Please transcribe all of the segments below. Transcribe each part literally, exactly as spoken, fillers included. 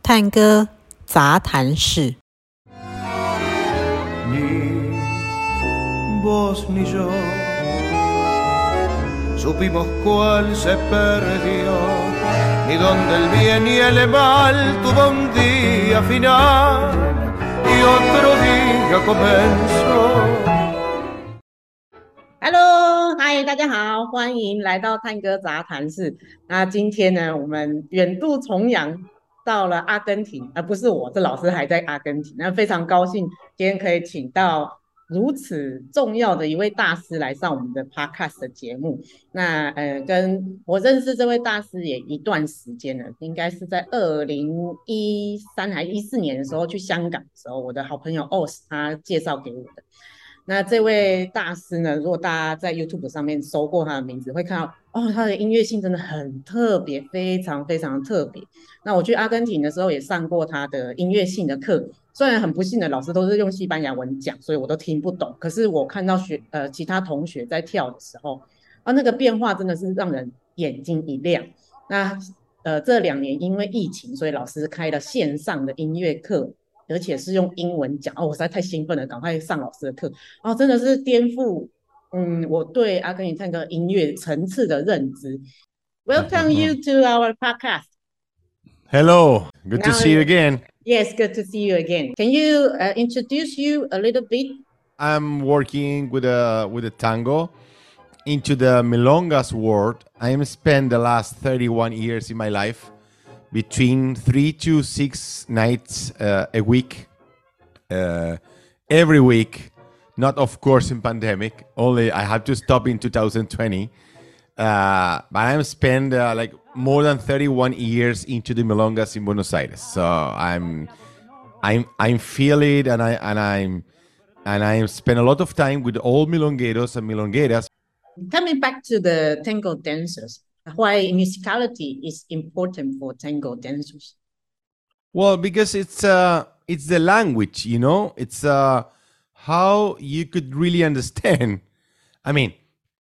探戈雜談室。 Ni vos ni yo supimos cuál se perdió, ni donde el bien y el mal tuvo un día final y otro día comenzó。 Hello， 嗨，大家好，歡迎來到探戈雜談室。那今天呢，我們遠渡重洋到了阿根廷，而不是我，這老師還在阿根廷。那非常高興今天可以請到如此重要的一位大師來上我們的 podcast 的節目。那呃，跟我認識這位大師也一段時間了，應該是在二零一三還一四年的時候去香港的時候，我的好朋友 Os 他介紹給我的。那這位大師呢，如果大家在 YouTube 上面搜過他的名字，會看到哦，他的音樂性真的很特別，非常非常特別。那我去阿根廷的時候也上過他的音樂性的課，雖然很不幸的老師都是用西班牙文講，所以我都聽不懂。可是我看到學呃其他同學在跳的時候，啊，那個變化真的是讓人眼睛一亮。那呃這兩年因為疫情，所以老師開了線上的音樂課。而且是用英文講哦，我實在太興奮了，趕快上老師的課哦，真的是顛覆嗯我對阿根廷探戈音樂層次的認知。Welcome you to our podcast. Hello, good Now, to see you again. Yes, good to see you again. Can you uh, introduce you a little bit? I'm working with a with a tango into the milongas world. I am spent the last thirty-one years in my life. Between three to six nights uh, a week, uh, every week. Not, of course, in pandemic. Only I had to stop in two thousand twenty. Uh, but I'm spent uh, like more than thirty-one years into the milongas in Buenos Aires. So I'm, I'm, I'm feel it, and I and I'm, and I spend a lot of time with all milongueros and milongueras. Coming back to the tango dancers. Why musicality is important for tango dancers? Well, because it's uh, it's the language, you know. It's uh, how you could really understand. I mean,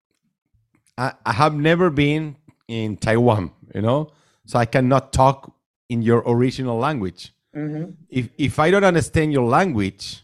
I, I have never been in Taiwan, you know, so I cannot talk in your original language. Mm-hmm. If if I don't understand your language,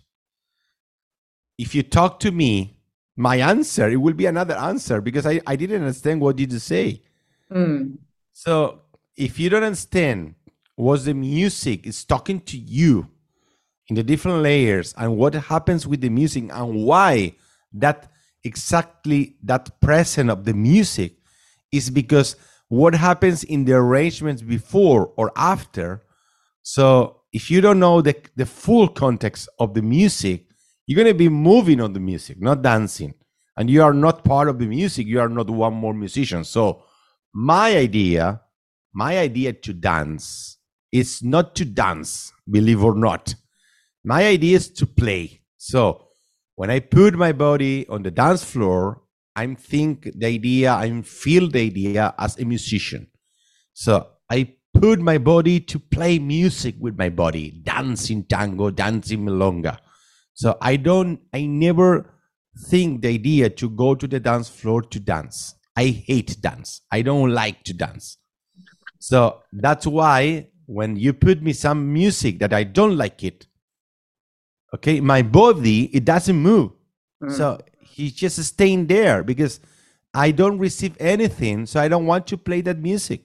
if you talk to me, my answer, it will be another answer because I, I didn't understand what did you say. Mm. So if you don't understand what the music is talking to you in the different layers and what happens with the music and why that exactly that presence of the music is because what happens in the arrangements before or after. So if you don't know the, the full context of the music, you're going to be moving on the music, not dancing. And you are not part of the music. You are not one more musician. So My idea, my idea to dance is not to dance, believe or not. My idea is to play. So when I put my body on the dance floor, I think the idea, I feel the idea as a musician. So I put my body to play music with my body, dancing tango, dancing milonga. So I don't, I never think the idea to go to the dance floor to dance. I hate dance. I don't like to dance. So that's why when you put me some music that I don't like it, okay, my body, it doesn't move. Mm. So he's just staying there because I don't receive anything. So I don't want to play that music.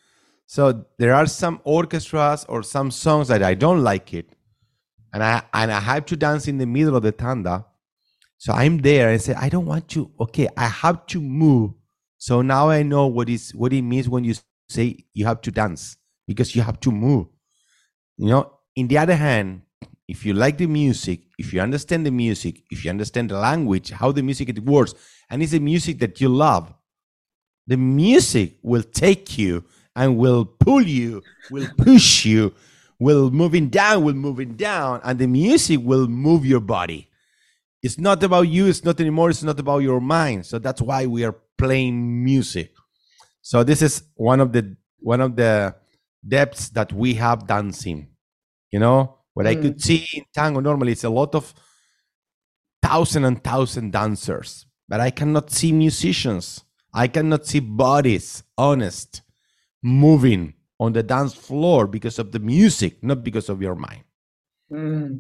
So there are some orchestras or some songs that I don't like it. And I, and I have to dance in the middle of the tanda. So I'm there and say, I don't want to, okay, I have to move. So now I know what is what it means when you say you have to dance because you have to move. You know, in the other hand, if you like the music, if you understand the music, if you understand the language, how the music it works, and it's a music that you love, the music will take you and will pull you, will push you, will moving down, will moving down, and the music will move your body. It's not about you, it's not anymore, it's not about your mind. So that's why we are playing music. So this is one of the one of the depths that we have dancing. You know, what mm. I could see in tango normally it's a lot of thousand and thousand dancers, but I cannot see musicians. I cannot see bodies, honest, moving on the dance floor because of the music, not because of your mind. Mm.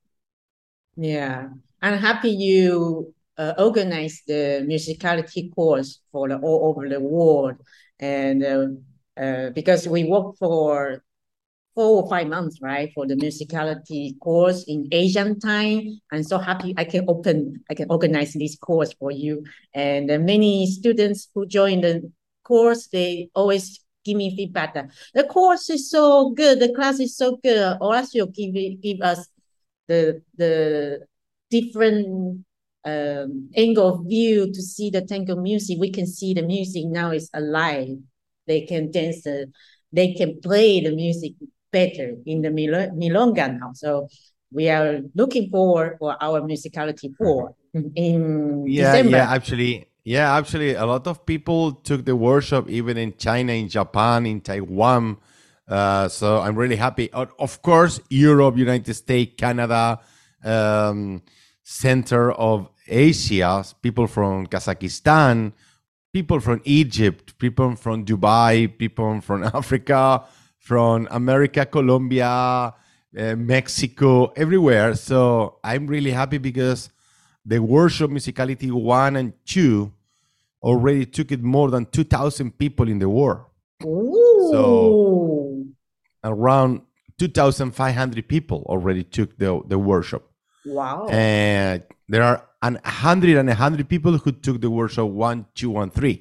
Yeah, I'm happy you uh, organized the musicality course for the all over the world, and uh, uh, because we work for four or five months, right, for the musicality course in Asian time. I'm so happy I can open, I can organize this course for you. And uh, many students who join the course, they always give me feedback that the course is so good, the class is so good. Horacio give give us the the different um, angle of view to see the tango music. We can see the music now is alive. They can dance, the, they can play the music better in the mil- milonga now. So we are looking forward for our musicality four in Yeah, December. yeah, actually, yeah, actually, a lot of people took the workshop even in China, in Japan, in Taiwan. Uh, so I'm really happy. Of of course, Europe, United States, Canada, um, center of Asia, people from Kazakhstan, people from Egypt, people from Dubai, people from Africa, from America, Colombia, uh, Mexico, everywhere. So I'm really happy because the workshop Musicality one and two already took it more than two thousand people in the world. Ooh. So around two thousand five hundred people already took the, the workshop. Wow. And there are an hundred and a hundred people who took the workshop one, two, and three.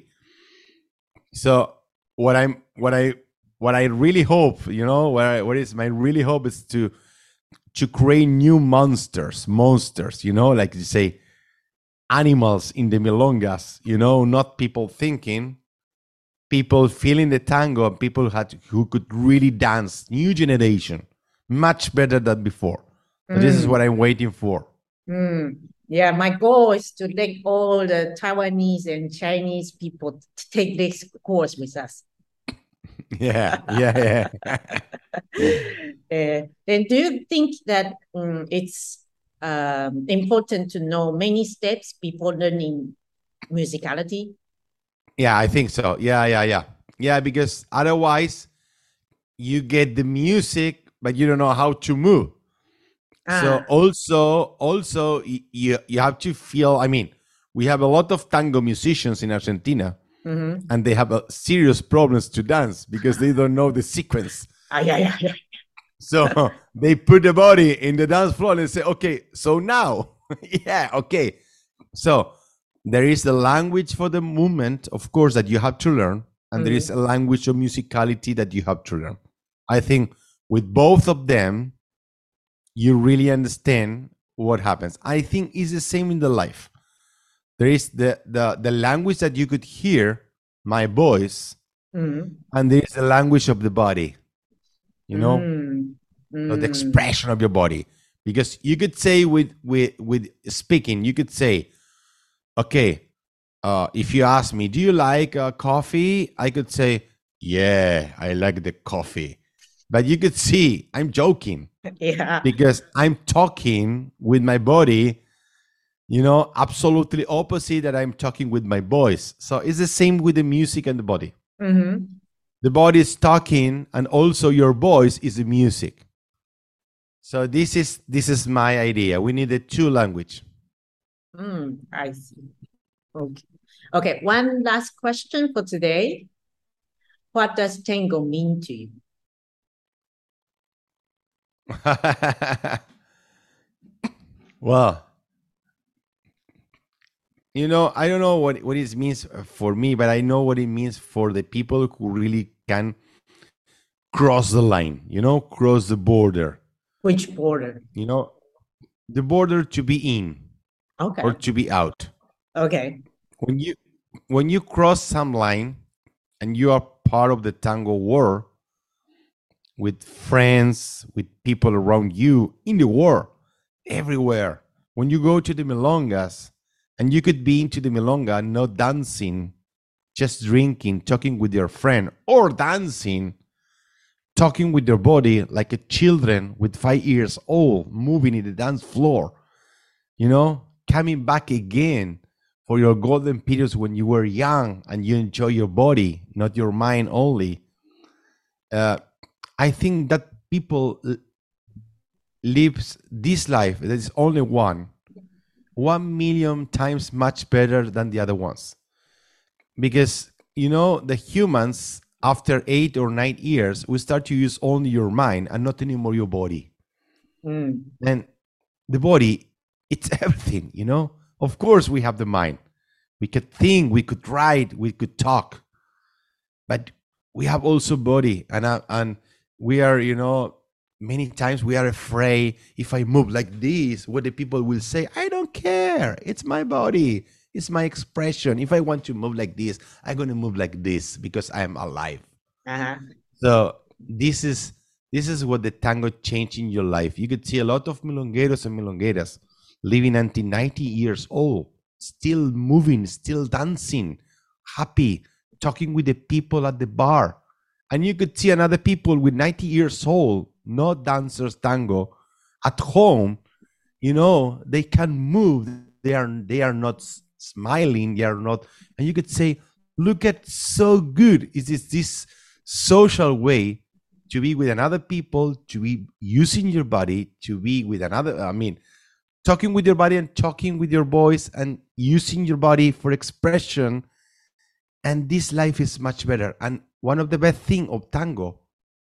So what I'm, what I, what I really hope, you know, what, I, what is my really hope is to, to create new monsters, monsters, you know, like you say, animals in the milongas, you know, not people thinking, people feeling the tango, and people had who could really dance, new generation, much better than before. Mm. This is what I'm waiting for. Mm. Yeah, my goal is to let all the Taiwanese and Chinese people to take this course with us. Yeah, yeah, yeah. uh, and do you think that um, it's um, important to know many steps before learning musicality? Yeah, I think so. Yeah, yeah, yeah. Yeah, because otherwise you get the music, but you don't know how to move. Ah. So also, also you, you have to feel, I mean, we have a lot of tango musicians in Argentina, mm-hmm. and they have a serious problems to dance because they don't know the sequence. Ah, yeah, yeah, yeah. So they put the body in the dance floor and say, okay, so now, yeah, okay. So there is a language for the movement, of course, that you have to learn. And mm-hmm. there is a language of musicality that you have to learn. I think with both of them, you really understand what happens. I think it's the same in the life. There is the, the, the language that you could hear, my voice, mm-hmm. and there is the language of the body. You know, mm. Mm. the expression of your body, because you could say with with with speaking, you could say, okay, uh, if you ask me, do you like uh, coffee? I could say, yeah, I like the coffee. But you could see I'm joking, yeah, because I'm talking with my body. You know, absolutely opposite that I'm talking with my voice. So it's the same with the music and the body. Mm-hmm. The body is talking, and also your voice is the music. So this is this is my idea. We need a two language. Mm, I see. Okay. Okay. One last question for today. What does tango mean to you? Well, you know, I don't know what, what it means for me, but I know what it means for the people who really can cross the line, you know, cross the border. Which border? You know, the border to be in, okay, or to be out. Okay. When you when you cross some line and you are part of the tango world with friends, with people around you in the world, everywhere. When you go to the milongas, and you could be into the milonga, not dancing, just drinking, talking with your friend, or dancing, talking with your body like a children with five years old, moving in the dance floor, you know, coming back again for your golden periods when you were young and you enjoy your body, not your mind only. uh, I think that people l- lives this life. There is only one, one million times much better than the other ones. Because you know the humans after eight or nine years we start to use only your mind and not anymore your body. Mm. And the body, it's everything, you know. Of course we have the mind, we could think, we could write, we could talk, but we have also body. And uh, and we are, you know, many times we are afraid, if I move like this, what the people will say. I don't care, it's my body, it's my expression. If I want to move like this, I'm going to move like this because I am alive. Uh-huh. So this is this is what the tango changed in your life. You could see a lot of milongueros and milongueras living until ninety years old, still moving, still dancing, happy, talking with the people at the bar. And you could see another people with ninety years old, not dancers tango, at home, you know, they can move. They are they are not s- smiling, they are not, and you could say, look at so good. Is this this social way to be with another people, to be using your body, to be with another, I mean, talking with your body and talking with your voice and using your body for expression. And this life is much better. And one of the best thing of tango,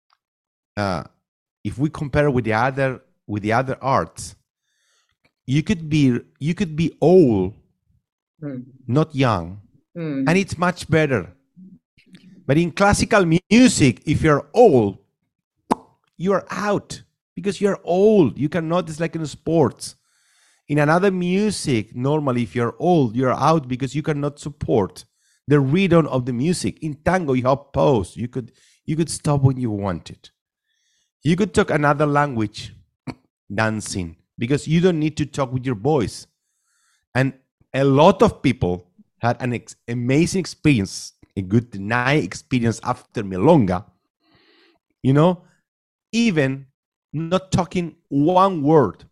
uh, if we compare with the other with the other arts, you could be you could be old, Mm. not young, Mm. and it's much better. But in classical music, if you're old, you are out because you're old. You cannot. It's like in sports. In another music, normally, if you're old, you're out because you cannot support the rhythm of the music. In tango, you have pause. You could you could stop when you wanted. You could talk another language, dancing, because you don't need to talk with your voice. And a lot of people had an ex- amazing experience, a good night experience after milonga. You know, even not talking one word,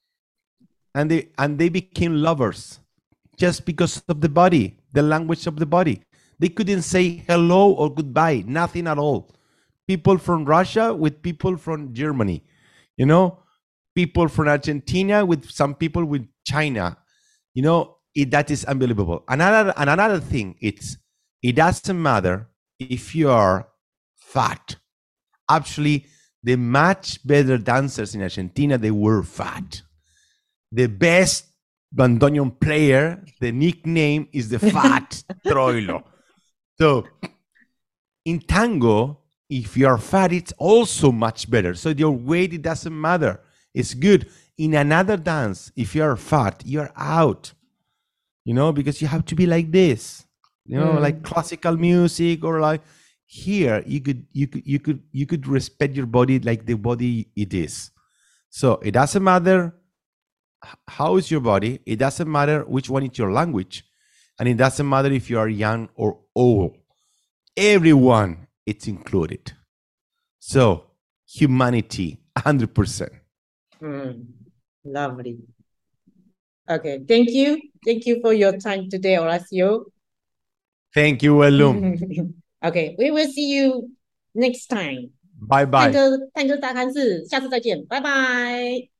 and they and they became lovers just because of the body, the language of the body. They couldn't say hello or goodbye, nothing at all. People from Russia with people from Germany, you know, people from Argentina with some people with China, you know, it, that is unbelievable. Another and another thing, it's it doesn't matter if you are fat. Actually, the much better dancers in Argentina, they were fat. The best bandoneon player, the nickname is the fat Troilo. So in tango, if you are fat, it's also much better. So your weight, it doesn't matter. It's good. In another dance, if you are fat, you're out, you know, because you have to be like this, you know, like Mm. classical music, or like here, you could, you could, you could, you could respect your body like the body it is. So it doesn't matter h- how is your body. It doesn't matter which one is your language. And it doesn't matter if you are young or old. Everyone, it's included. So humanity, one hundred percent. Mm. Lovely. Okay, thank you. Thank you for your time today, Horacio. Thank you, Elum. Okay, we will see you next time. Bye 探 bye. 戈探戈大谈室，下次再见，拜拜。